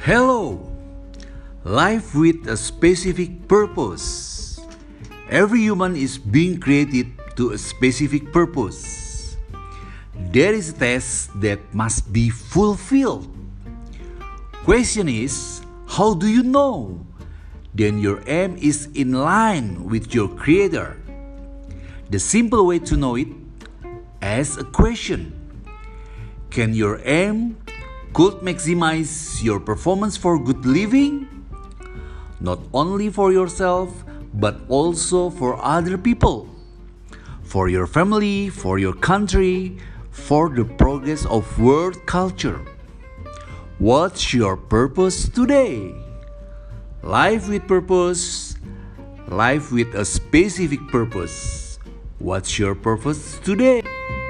Hello! Life with a specific purpose. Every human is being created to a specific purpose. There is a test that must be fulfilled. Question is, how do you know? Then your aim is in line with your creator. The simple way to know it, ask a question. Can your aim could maximize your performance for good living? Not only for yourself, but also for other people, for your family, for your country, for the progress of world culture. What's your purpose today? Life with purpose, life with a specific purpose. What's your purpose today?